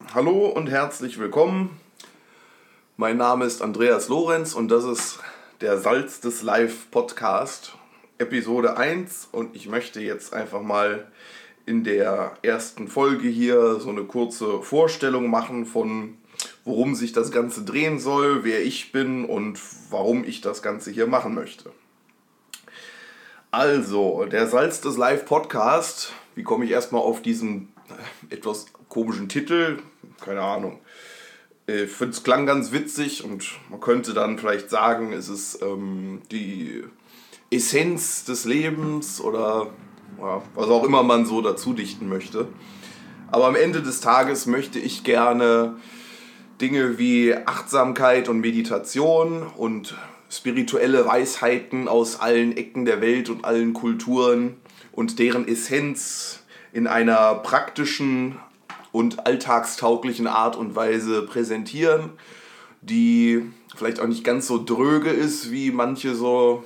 Hallo und herzlich willkommen. Mein Name ist Andreas Lorenz und das ist der Salz des Live Podcast, Episode 1. Und ich möchte jetzt einfach mal in der ersten Folge hier so eine kurze Vorstellung machen von, worum sich das Ganze drehen soll, wer ich bin und warum ich das Ganze hier machen möchte. Also, der Salz des Live Podcast, wie komme ich erstmal auf diesen etwas komischen Titel? Keine Ahnung. Ich finde, es klang ganz witzig und man könnte dann vielleicht sagen, es ist die Essenz des Lebens oder ja, was auch immer man so dazu dichten möchte. Aber am Ende des Tages möchte ich gerne Dinge wie Achtsamkeit und Meditation und spirituelle Weisheiten aus allen Ecken der Welt und allen Kulturen und deren Essenz in einer praktischen und alltagstauglichen Art und Weise präsentieren, die vielleicht auch nicht ganz so dröge ist wie manche so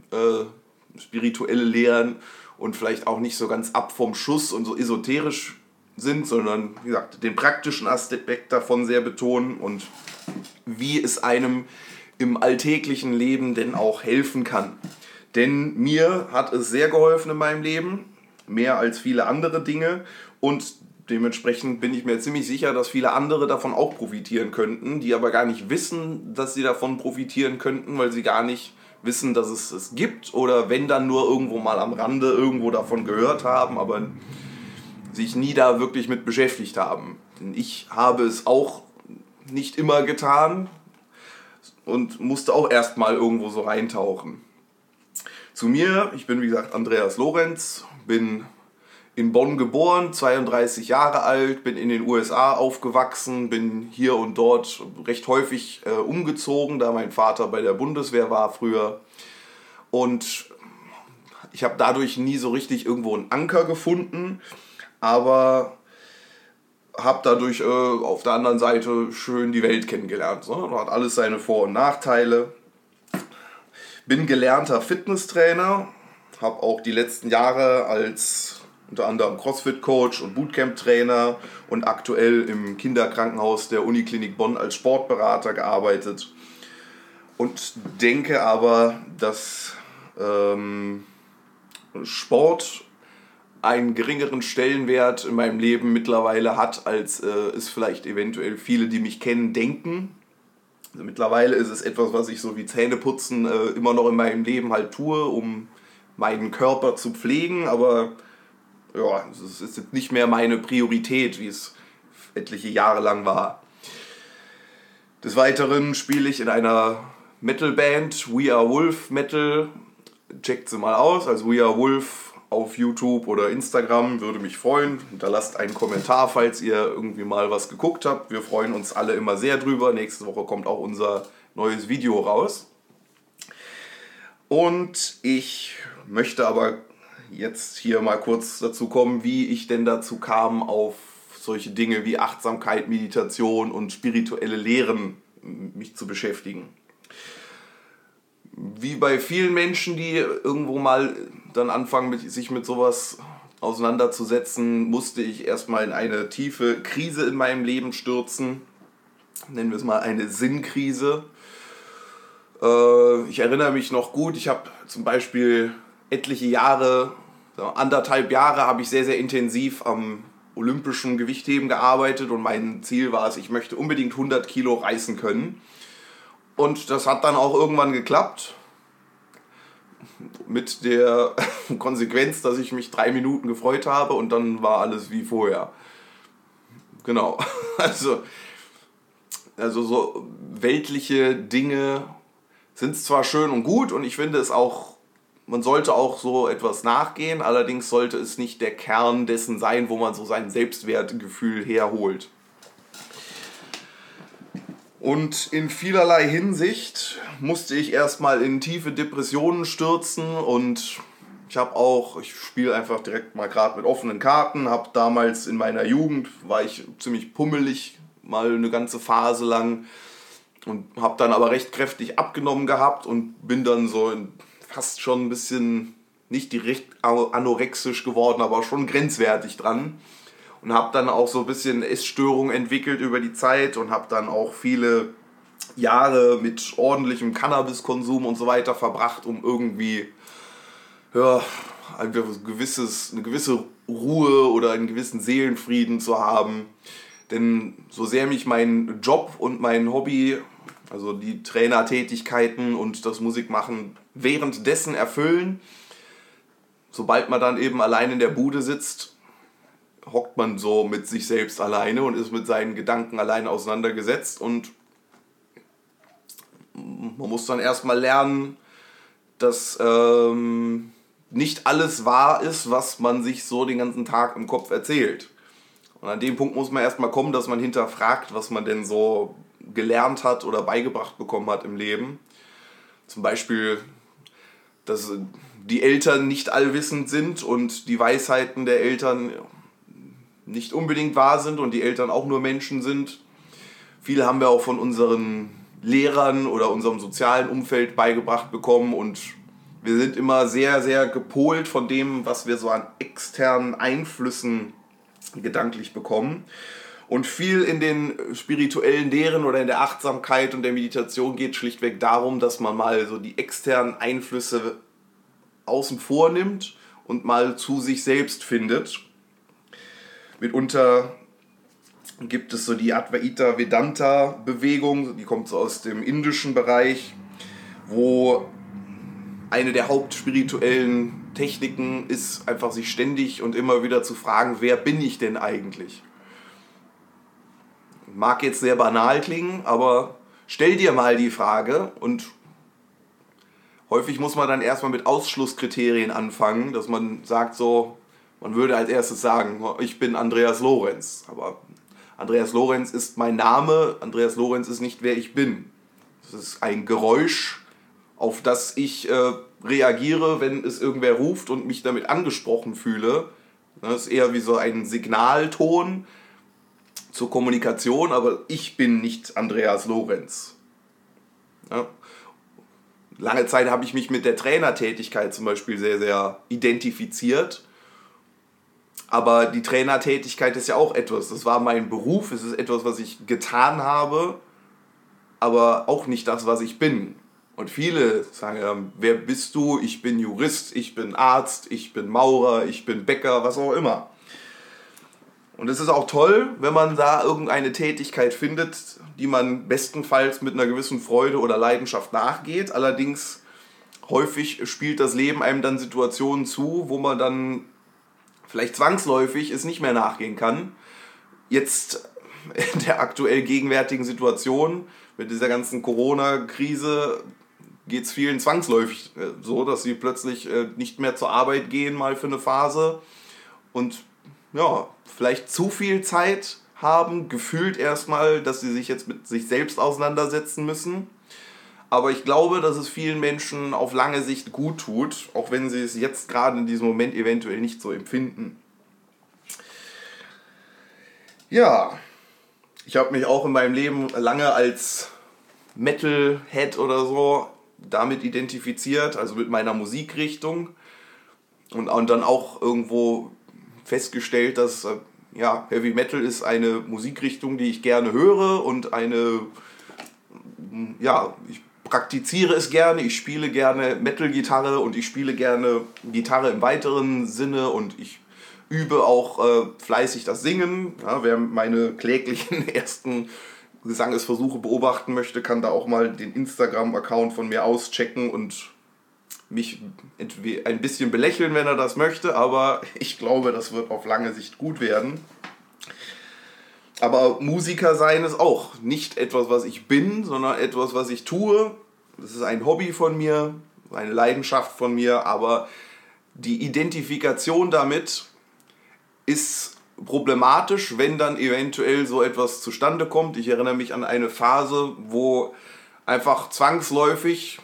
spirituelle Lehren und vielleicht auch nicht so ganz ab vom Schuss und so esoterisch sind, sondern wie gesagt, den praktischen Aspekt davon sehr betonen und wie es einem im alltäglichen Leben denn auch helfen kann. Denn mir hat es sehr geholfen in meinem Leben, mehr als viele andere Dinge, und dementsprechend bin ich mir ziemlich sicher, dass viele andere davon auch profitieren könnten, die aber gar nicht wissen, dass sie davon profitieren könnten, weil sie gar nicht wissen, dass es es gibt oder wenn dann nur irgendwo mal am Rande irgendwo davon gehört haben, aber sich nie da wirklich mit beschäftigt haben. Denn ich habe es auch nicht immer getan und musste auch erstmal irgendwo so reintauchen. Zu mir, ich bin wie gesagt Andreas Lorenz, bin in Bonn geboren, 32 Jahre alt, bin in den USA aufgewachsen, bin hier und dort recht häufig umgezogen, da mein Vater bei der Bundeswehr war früher. Und ich habe dadurch nie so richtig irgendwo einen Anker gefunden, aber habe dadurch auf der anderen Seite schön die Welt kennengelernt. So. Hat alles seine Vor- und Nachteile. Bin gelernter Fitnesstrainer, habe auch die letzten Jahre als unter anderem CrossFit-Coach und Bootcamp-Trainer und aktuell im Kinderkrankenhaus der Uniklinik Bonn als Sportberater gearbeitet. Und denke aber, dass Sport einen geringeren Stellenwert in meinem Leben mittlerweile hat, als es vielleicht eventuell viele, die mich kennen, denken. Also mittlerweile ist es etwas, was ich so wie Zähneputzen immer noch in meinem Leben halt tue, um meinen Körper zu pflegen, aber ja, es ist jetzt nicht mehr meine Priorität, wie es etliche Jahre lang war. Des Weiteren spiele ich in einer Metalband, We Are Wolf Metal. Checkt sie mal aus, also We Are Wolf auf YouTube oder Instagram, würde mich freuen. Hinterlasst einen Kommentar, falls ihr irgendwie mal was geguckt habt. Wir freuen uns alle immer sehr drüber. Nächste Woche kommt auch unser neues Video raus. Und ich möchte aber jetzt hier mal kurz dazu kommen, wie ich denn dazu kam, auf solche Dinge wie Achtsamkeit, Meditation und spirituelle Lehren mich zu beschäftigen. Wie bei vielen Menschen, die irgendwo mal dann anfangen, sich mit sowas auseinanderzusetzen, musste ich erstmal in eine tiefe Krise in meinem Leben stürzen. Nennen wir es mal eine Sinnkrise. Ich erinnere mich noch gut, ich habe zum Beispiel etliche Jahre, 1,5 Jahre, habe ich sehr, sehr intensiv am olympischen Gewichtheben gearbeitet und mein Ziel war es, ich möchte unbedingt 100 Kilo reißen können. Und das hat dann auch irgendwann geklappt. Mit der Konsequenz, dass ich mich 3 Minuten gefreut habe und dann war alles wie vorher. Genau. Also so weltliche Dinge sind zwar schön und gut und ich finde es auch, man sollte auch so etwas nachgehen, allerdings sollte es nicht der Kern dessen sein, wo man so sein Selbstwertgefühl herholt. Und in vielerlei Hinsicht musste ich erstmal in tiefe Depressionen stürzen und ich spiele einfach direkt mal gerade mit offenen Karten, habe damals in meiner Jugend, war ich ziemlich pummelig, mal eine ganze Phase lang und habe dann aber recht kräftig abgenommen gehabt und bin dann so fast schon ein bisschen, nicht direkt anorexisch geworden, aber schon grenzwertig dran. und habe dann auch so ein bisschen Essstörungen entwickelt über die Zeit und habe dann auch viele Jahre mit ordentlichem Cannabiskonsum und so weiter verbracht, um irgendwie einfach eine gewisse Ruhe oder einen gewissen Seelenfrieden zu haben. Denn so sehr mich mein Job und mein Hobby, also die Trainertätigkeiten und das Musikmachen währenddessen erfüllen, sobald man dann eben allein in der Bude sitzt, hockt man so mit sich selbst alleine und ist mit seinen Gedanken alleine auseinandergesetzt und man muss dann erstmal lernen, dass nicht alles wahr ist, was man sich so den ganzen Tag im Kopf erzählt. Und an dem Punkt muss man erstmal kommen, dass man hinterfragt, was man denn so gelernt hat oder beigebracht bekommen hat im Leben. Zum Beispiel, dass die Eltern nicht allwissend sind und die Weisheiten der Eltern nicht unbedingt wahr sind und die Eltern auch nur Menschen sind. Viel haben wir auch von unseren Lehrern oder unserem sozialen Umfeld beigebracht bekommen und wir sind immer sehr, sehr gepolt von dem, was wir so an externen Einflüssen gedanklich bekommen. Und viel in den spirituellen Lehren oder in der Achtsamkeit und der Meditation geht schlichtweg darum, dass man mal so die externen Einflüsse außen vor nimmt und mal zu sich selbst findet. Mitunter gibt es so die Advaita Vedanta Bewegung, die kommt so aus dem indischen Bereich, wo eine der hauptspirituellen Techniken ist, einfach sich ständig und immer wieder zu fragen, wer bin ich denn eigentlich? Mag jetzt sehr banal klingen, aber stell dir mal die Frage und häufig muss man dann erstmal mit Ausschlusskriterien anfangen, dass man sagt so, man würde als erstes sagen, ich bin Andreas Lorenz, aber Andreas Lorenz ist mein Name, Andreas Lorenz ist nicht wer ich bin. Das ist ein Geräusch, auf das ich reagiere, wenn es irgendwer ruft und mich damit angesprochen fühle. Das ist eher wie so ein Signalton zur Kommunikation, aber ich bin nicht Andreas Lorenz. Ja. Lange Zeit habe ich mich mit der Trainertätigkeit zum Beispiel sehr, sehr identifiziert. Aber die Trainertätigkeit ist ja auch etwas, das war mein Beruf, es ist etwas, was ich getan habe, aber auch nicht das, was ich bin. Und viele sagen, wer bist du? Ich bin Jurist, ich bin Arzt, ich bin Maurer, ich bin Bäcker, was auch immer. Und es ist auch toll, wenn man da irgendeine Tätigkeit findet, die man bestenfalls mit einer gewissen Freude oder Leidenschaft nachgeht. Allerdings häufig spielt das Leben einem dann Situationen zu, wo man dann vielleicht zwangsläufig es nicht mehr nachgehen kann. Jetzt in der aktuell gegenwärtigen Situation mit dieser ganzen Corona-Krise geht es vielen zwangsläufig so, dass sie plötzlich nicht mehr zur Arbeit gehen, mal für eine Phase und ja, vielleicht zu viel Zeit haben, gefühlt erstmal, dass sie sich jetzt mit sich selbst auseinandersetzen müssen. Aber ich glaube, dass es vielen Menschen auf lange Sicht gut tut, auch wenn sie es jetzt gerade in diesem Moment eventuell nicht so empfinden. Ja, ich habe mich auch in meinem Leben lange als Metalhead oder so damit identifiziert, also mit meiner Musikrichtung und dann auch irgendwo festgestellt, dass Heavy Metal ist eine Musikrichtung, die ich gerne höre und ich praktiziere es gerne, ich spiele gerne Metal-Gitarre und ich spiele gerne Gitarre im weiteren Sinne und ich übe auch fleißig das Singen. Ja, wer meine kläglichen ersten Gesangesversuche beobachten möchte, kann da auch mal den Instagram-Account von mir auschecken und mich ein bisschen belächeln, wenn er das möchte, aber ich glaube, das wird auf lange Sicht gut werden. Aber Musiker sein ist auch nicht etwas, was ich bin, sondern etwas, was ich tue. Das ist ein Hobby von mir, eine Leidenschaft von mir, aber die Identifikation damit ist problematisch, wenn dann eventuell so etwas zustande kommt. Ich erinnere mich an eine Phase, wo einfach zwangsläufig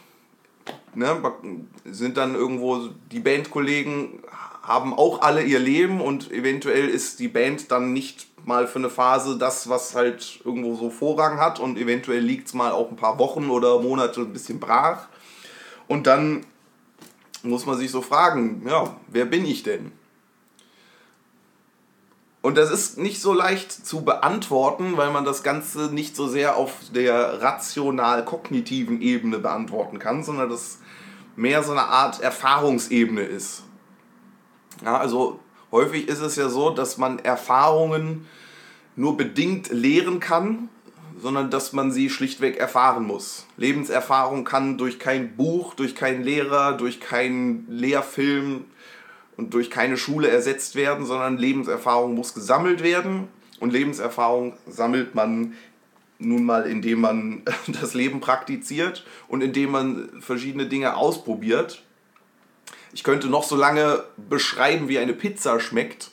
sind dann irgendwo die Bandkollegen haben auch alle ihr Leben und eventuell ist die Band dann nicht mal für eine Phase das, was halt irgendwo so Vorrang hat und eventuell liegt es mal auch ein paar Wochen oder Monate ein bisschen brach und dann muss man sich so fragen, ja, wer bin ich denn? Und das ist nicht so leicht zu beantworten, weil man das Ganze nicht so sehr auf der rational-kognitiven Ebene beantworten kann, sondern das mehr so eine Art Erfahrungsebene ist. Ja, also häufig ist es ja so, dass man Erfahrungen nur bedingt lehren kann, sondern dass man sie schlichtweg erfahren muss. Lebenserfahrung kann durch kein Buch, durch keinen Lehrer, durch keinen Lehrfilm und durch keine Schule ersetzt werden, sondern Lebenserfahrung muss gesammelt werden. Und Lebenserfahrung sammelt man nun mal, indem man das Leben praktiziert und indem man verschiedene Dinge ausprobiert. Ich könnte noch so lange beschreiben, wie eine Pizza schmeckt.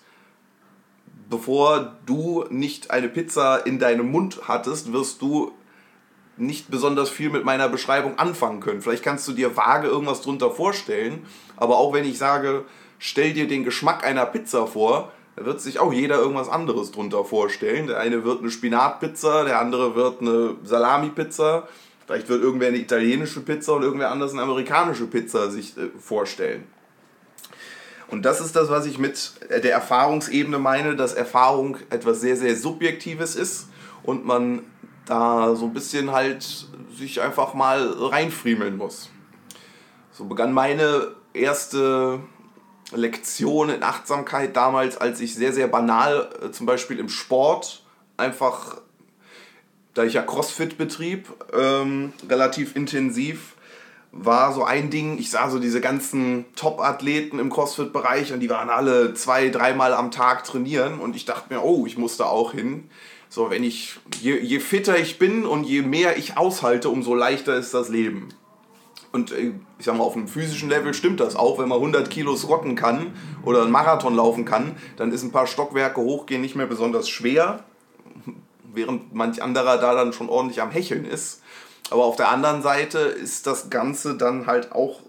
Bevor du nicht eine Pizza in deinem Mund hattest, wirst du nicht besonders viel mit meiner Beschreibung anfangen können. Vielleicht kannst du dir vage irgendwas drunter vorstellen, aber auch wenn ich sage, stell dir den Geschmack einer Pizza vor, da wird sich auch jeder irgendwas anderes drunter vorstellen. Der eine wird eine Spinatpizza, der andere wird eine Salami-Pizza, vielleicht wird irgendwer eine italienische Pizza und irgendwer anders eine amerikanische Pizza sich vorstellen. Und das ist das, was ich mit der Erfahrungsebene meine, dass Erfahrung etwas sehr, sehr Subjektives ist und man da so ein bisschen halt sich einfach mal reinfriemeln muss. So begann meine erste Lektion in Achtsamkeit damals, als ich sehr, sehr banal, zum Beispiel im Sport, einfach, da ich ja CrossFit betrieb, relativ intensiv, war so ein Ding, ich sah so diese ganzen Top-Athleten im CrossFit-Bereich und die waren alle 2-3 Mal am Tag trainieren und ich dachte mir, oh, ich muss da auch hin. So, wenn ich, je fitter ich bin und je mehr ich aushalte, umso leichter ist das Leben. Und ich sag mal, auf einem physischen Level stimmt das auch, wenn man 100 Kilo squatten kann oder einen Marathon laufen kann, dann ist ein paar Stockwerke hochgehen nicht mehr besonders schwer, während manch anderer da dann schon ordentlich am Hecheln ist. Aber auf der anderen Seite ist das Ganze dann halt auch,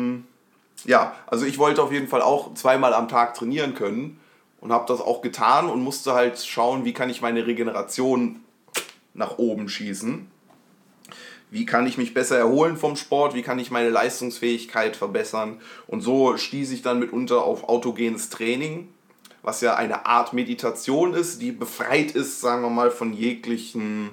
also ich wollte auf jeden Fall auch 2-mal am Tag trainieren können und habe das auch getan und musste halt schauen, wie kann ich meine Regeneration nach oben schießen. Wie kann ich mich besser erholen vom Sport, wie kann ich meine Leistungsfähigkeit verbessern. Und so stieß ich dann mitunter auf autogenes Training, was ja eine Art Meditation ist, die befreit ist, sagen wir mal, von jeglichen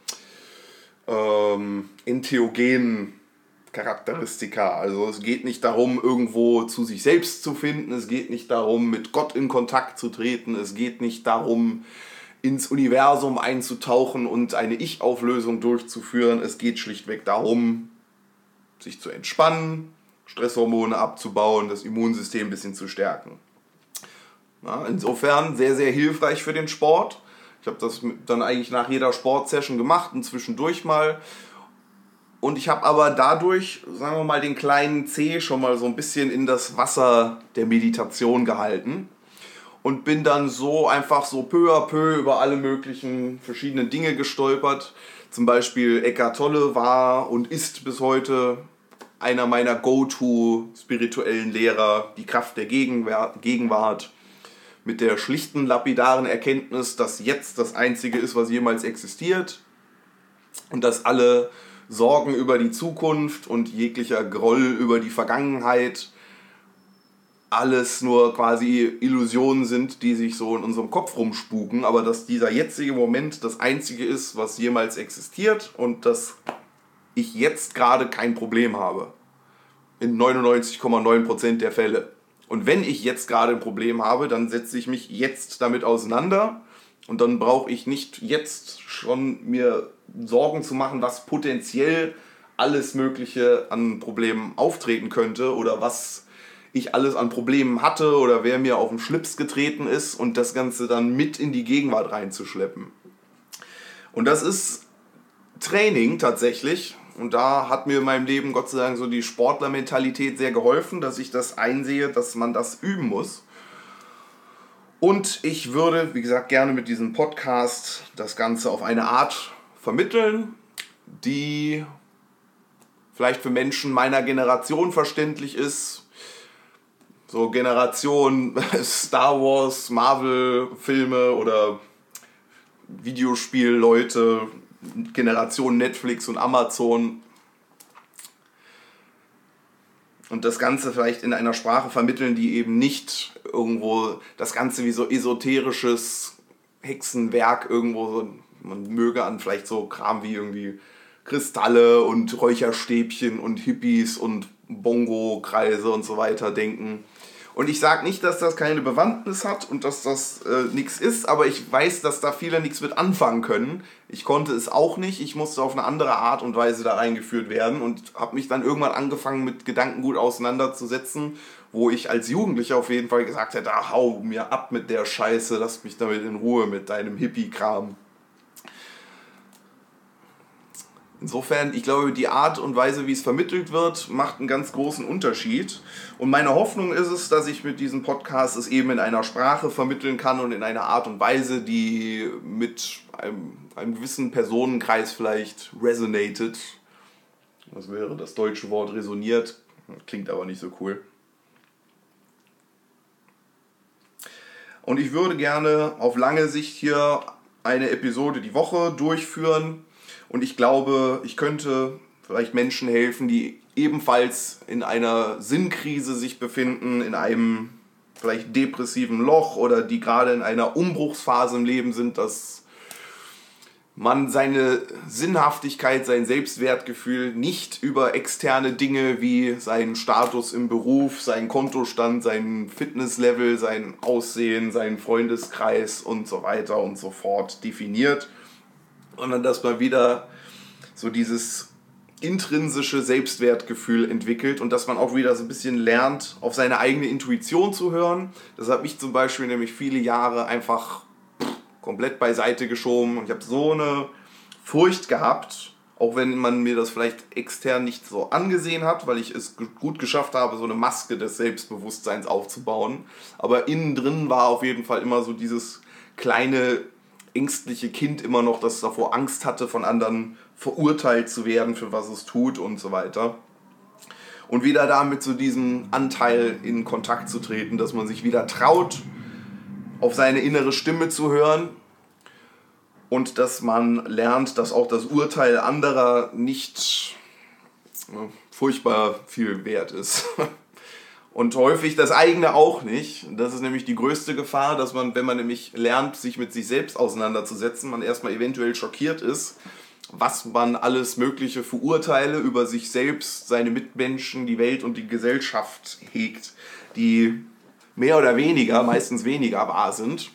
entheogenen Charakteristika. Also es geht nicht darum, irgendwo zu sich selbst zu finden, es geht nicht darum, mit Gott in Kontakt zu treten, es geht nicht darum, ins Universum einzutauchen und eine Ich-Auflösung durchzuführen. Es geht schlichtweg darum, sich zu entspannen, Stresshormone abzubauen, das Immunsystem ein bisschen zu stärken. Ja, insofern sehr, sehr hilfreich für den Sport. Ich habe das dann eigentlich nach jeder Sportsession gemacht und zwischendurch mal. Und ich habe aber dadurch, sagen wir mal, den kleinen Zeh schon mal so ein bisschen in das Wasser der Meditation gehalten. Und bin dann so einfach so peu à peu über alle möglichen verschiedenen Dinge gestolpert. Zum Beispiel Eckhart Tolle war und ist bis heute einer meiner Go-To-spirituellen Lehrer, die Kraft der Gegenwart. Mit der schlichten, lapidaren Erkenntnis, dass jetzt das Einzige ist, was jemals existiert. Und dass alle Sorgen über die Zukunft und jeglicher Groll über die Vergangenheit alles nur quasi Illusionen sind, die sich so in unserem Kopf rumspuken, aber dass dieser jetzige Moment das Einzige ist, was jemals existiert und dass ich jetzt gerade kein Problem habe. In 99,9% der Fälle. Und wenn ich jetzt gerade ein Problem habe, dann setze ich mich jetzt damit auseinander und dann brauche ich nicht jetzt schon mir Sorgen zu machen, was potenziell alles Mögliche an Problemen auftreten könnte oder was ich alles an Problemen hatte oder wer mir auf den Schlips getreten ist und das Ganze dann mit in die Gegenwart reinzuschleppen. Und das ist Training tatsächlich. Und da hat mir in meinem Leben Gott sei Dank so die Sportlermentalität sehr geholfen, dass ich das einsehe, dass man das üben muss. Und ich würde, wie gesagt, gerne mit diesem Podcast das Ganze auf eine Art vermitteln, die vielleicht für Menschen meiner Generation verständlich ist. So Generation Star Wars, Marvel-Filme oder Videospielleute, Generation Netflix und Amazon. und das Ganze vielleicht in einer Sprache vermitteln, die eben nicht irgendwo das Ganze wie so esoterisches Hexenwerk irgendwo so, man möge an vielleicht so Kram wie irgendwie Kristalle und Räucherstäbchen und Hippies und Bongo-Kreise und so weiter denken. Und ich sage nicht, dass das keine Bewandtnis hat und dass das nichts ist, aber ich weiß, dass da viele nichts mit anfangen können. Ich konnte es auch nicht, ich musste auf eine andere Art und Weise da reingeführt werden und habe mich dann irgendwann angefangen mit Gedankengut auseinanderzusetzen, wo ich als Jugendlicher auf jeden Fall gesagt hätte, hau mir ab mit der Scheiße, lass mich damit in Ruhe mit deinem Hippie-Kram. Insofern, ich glaube, die Art und Weise, wie es vermittelt wird, macht einen ganz großen Unterschied. Und meine Hoffnung ist es, dass ich mit diesem Podcast es eben in einer Sprache vermitteln kann und in einer Art und Weise, die mit einem gewissen Personenkreis vielleicht resonated. Was wäre das deutsche Wort resoniert? Klingt aber nicht so cool. Und ich würde gerne auf lange Sicht hier eine Episode die Woche durchführen. Und ich glaube, ich könnte vielleicht Menschen helfen, die ebenfalls in einer Sinnkrise sich befinden, in einem vielleicht depressiven Loch oder die gerade in einer Umbruchsphase im Leben sind, dass man seine Sinnhaftigkeit, sein Selbstwertgefühl nicht über externe Dinge wie seinen Status im Beruf, seinen Kontostand, sein Fitnesslevel, sein Aussehen, seinen Freundeskreis und so weiter und so fort definiert, sondern dass man wieder so dieses intrinsische Selbstwertgefühl entwickelt und dass man auch wieder so ein bisschen lernt, auf seine eigene Intuition zu hören. Das hat mich zum Beispiel nämlich viele Jahre einfach komplett beiseite geschoben und ich habe so eine Furcht gehabt, auch wenn man mir das vielleicht extern nicht so angesehen hat, weil ich es gut geschafft habe, so eine Maske des Selbstbewusstseins aufzubauen. Aber innen drin war auf jeden Fall immer so dieses kleine ängstliche Kind immer noch, das davor Angst hatte, von anderen verurteilt zu werden, für was es tut und so weiter. Und wieder damit zu diesem Anteil in Kontakt zu treten, dass man sich wieder traut, auf seine innere Stimme zu hören und dass man lernt, dass auch das Urteil anderer nicht furchtbar viel wert ist. Und häufig das eigene auch nicht. Das ist nämlich die größte Gefahr, dass man, wenn man nämlich lernt, sich mit sich selbst auseinanderzusetzen, man erstmal eventuell schockiert ist, was man alles Mögliche für Urteile über sich selbst, seine Mitmenschen, die Welt und die Gesellschaft hegt, die mehr oder weniger, meistens weniger wahr sind.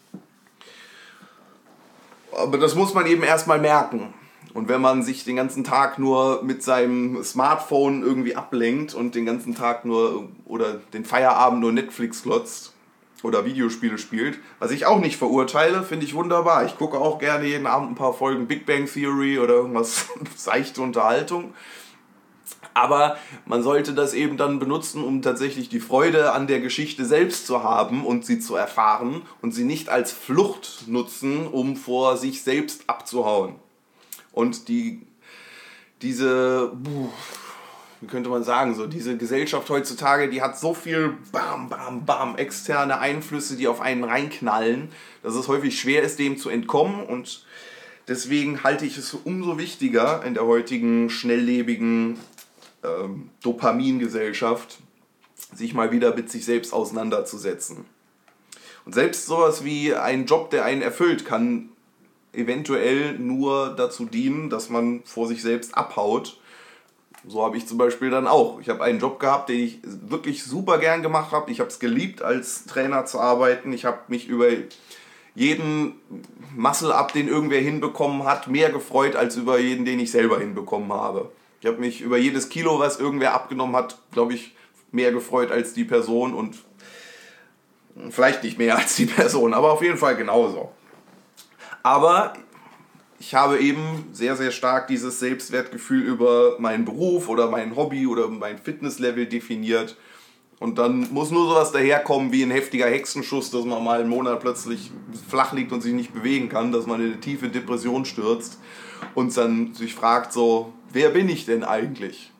Aber das muss man eben erstmal merken. Und wenn man sich den ganzen Tag nur mit seinem Smartphone irgendwie ablenkt und den ganzen Tag nur oder den Feierabend nur Netflix glotzt oder Videospiele spielt, was ich auch nicht verurteile, finde ich wunderbar. Ich gucke auch gerne jeden Abend ein paar Folgen Big Bang Theory oder irgendwas seichte Unterhaltung. Aber man sollte das eben dann benutzen, um tatsächlich die Freude an der Geschichte selbst zu haben und sie zu erfahren und sie nicht als Flucht nutzen, um vor sich selbst abzuhauen. Und diese, wie könnte man sagen, so diese Gesellschaft heutzutage, die hat so viel externe Einflüsse, die auf einen reinknallen, dass es häufig schwer ist, dem zu entkommen. Und deswegen halte ich es für umso wichtiger in der heutigen schnelllebigen Dopamingesellschaft, sich mal wieder mit sich selbst auseinanderzusetzen. Und selbst sowas wie ein Job, der einen erfüllt, kann eventuell nur dazu dienen, dass man vor sich selbst abhaut. So habe ich zum Beispiel dann auch. Ich habe einen Job gehabt, den ich wirklich super gern gemacht habe. Ich habe es geliebt, als Trainer zu arbeiten. Ich habe mich über jeden Muscle-Up, den irgendwer hinbekommen hat, mehr gefreut, als über jeden, den ich selber hinbekommen habe. Ich habe mich über jedes Kilo, was irgendwer abgenommen hat, glaube ich, mehr gefreut als die Person und vielleicht nicht mehr als die Person, aber auf jeden Fall genauso. Aber ich habe eben sehr, sehr stark dieses Selbstwertgefühl über meinen Beruf oder mein Hobby oder mein Fitnesslevel definiert. Und dann muss nur sowas daherkommen wie ein heftiger Hexenschuss, dass man mal einen Monat plötzlich flach liegt und sich nicht bewegen kann, dass man in eine tiefe Depression stürzt und dann sich fragt so, wer bin ich denn eigentlich?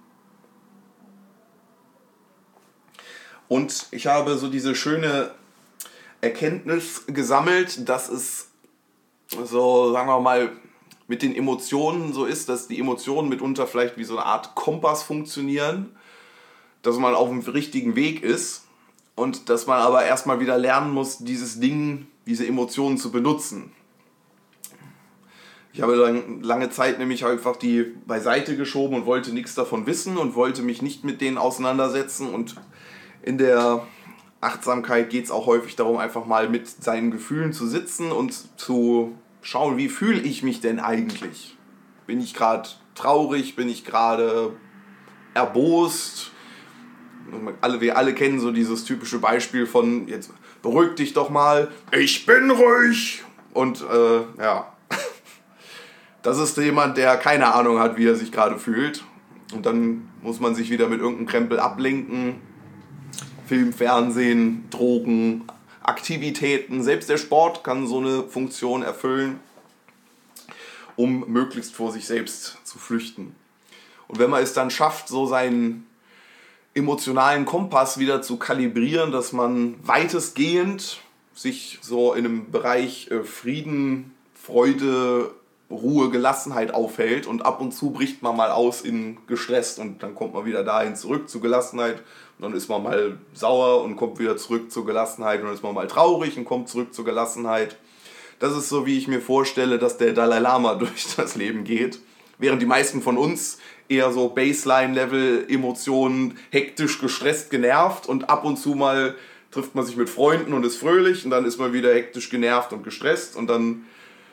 Und ich habe so diese schöne Erkenntnis gesammelt, dass es so, sagen wir mal, mit den Emotionen so ist, dass die Emotionen mitunter vielleicht wie so eine Art Kompass funktionieren. dass man auf dem richtigen Weg ist und dass man aber erstmal wieder lernen muss, diese Emotionen zu benutzen. Ich habe lange Zeit nämlich einfach die beiseite geschoben und wollte nichts davon wissen und wollte mich nicht mit denen auseinandersetzen. Und in der Achtsamkeit geht es auch häufig darum, einfach mal mit seinen Gefühlen zu sitzen und zu schauen, wie fühle ich mich denn eigentlich? Bin ich gerade traurig? Bin ich gerade erbost? Wir alle kennen so dieses typische Beispiel von, jetzt beruhig dich doch mal, ich bin ruhig. Und das ist jemand, der keine Ahnung hat, wie er sich gerade fühlt. Und dann muss man sich wieder mit irgendeinem Krempel ablenken. Film, Fernsehen, Drogen, Aktivitäten. Selbst der Sport kann so eine Funktion erfüllen, um möglichst vor sich selbst zu flüchten. Und wenn man es dann schafft, so seinen emotionalen Kompass wieder zu kalibrieren, dass man weitestgehend sich so in einem Bereich Frieden, Freude, Ruhe, Gelassenheit aufhält und ab und zu bricht man mal aus in gestresst und dann kommt man wieder dahin zurück zur Gelassenheit und dann ist man mal sauer und kommt wieder zurück zur Gelassenheit und dann ist man mal traurig und kommt zurück zur Gelassenheit. Das ist so, wie ich mir vorstelle, dass der Dalai Lama durch das Leben geht, während die meisten von uns eher so Baseline-Level Emotionen, hektisch, gestresst, genervt und ab und zu mal trifft man sich mit Freunden und ist fröhlich und dann ist man wieder hektisch, genervt und gestresst und dann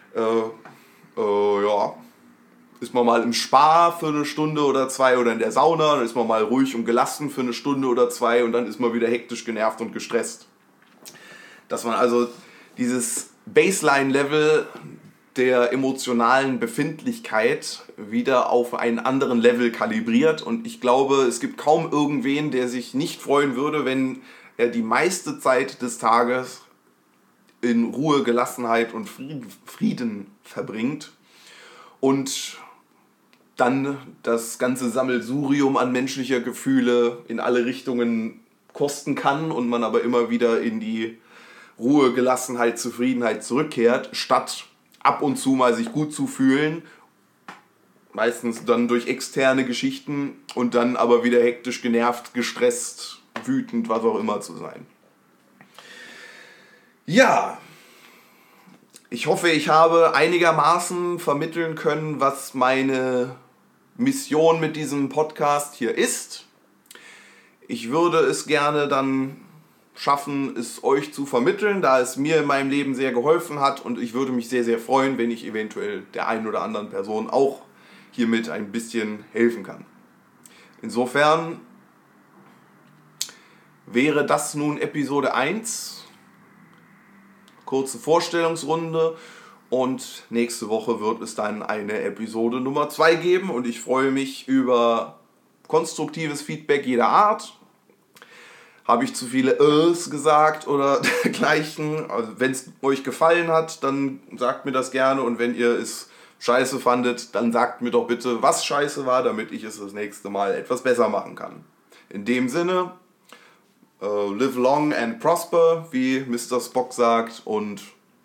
ist man mal im Spa für eine Stunde oder zwei oder in der Sauna, dann ist man mal ruhig und gelassen für eine Stunde oder zwei und dann ist man wieder hektisch, genervt und gestresst. Dass man also dieses Baseline-Level der emotionalen Befindlichkeit wieder auf einen anderen Level kalibriert und ich glaube, es gibt kaum irgendwen, der sich nicht freuen würde, wenn er die meiste Zeit des Tages in Ruhe, Gelassenheit und Frieden verbringt und dann das ganze Sammelsurium an menschlicher Gefühle in alle Richtungen kosten kann und man aber immer wieder in die Ruhe, Gelassenheit, Zufriedenheit zurückkehrt, statt ab und zu mal sich gut zu fühlen, meistens dann durch externe Geschichten und dann aber wieder hektisch, genervt, gestresst, wütend, was auch immer zu sein. Ja, ich hoffe, ich habe einigermaßen vermitteln können, was meine Mission mit diesem Podcast hier ist. Ich würde es gerne dann schaffen, es euch zu vermitteln, da es mir in meinem Leben sehr geholfen hat und ich würde mich sehr, sehr freuen, wenn ich eventuell der einen oder anderen Person auch hiermit ein bisschen helfen kann. Insofern wäre das nun Episode 1. Kurze Vorstellungsrunde und nächste Woche wird es dann eine Episode Nummer 2 geben und ich freue mich über konstruktives Feedback jeder Art. Habe ich zu viele gesagt oder dergleichen? Also wenn es euch gefallen hat, dann sagt mir das gerne und wenn ihr es scheiße fandet, dann sagt mir doch bitte, was scheiße war, damit ich es das nächste Mal etwas besser machen kann. In dem Sinne, live long and prosper, wie Mr. Spock sagt und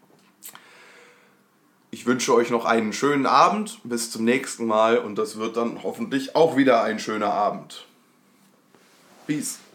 ich wünsche euch noch einen schönen Abend, bis zum nächsten Mal und das wird dann hoffentlich auch wieder ein schöner Abend. Peace.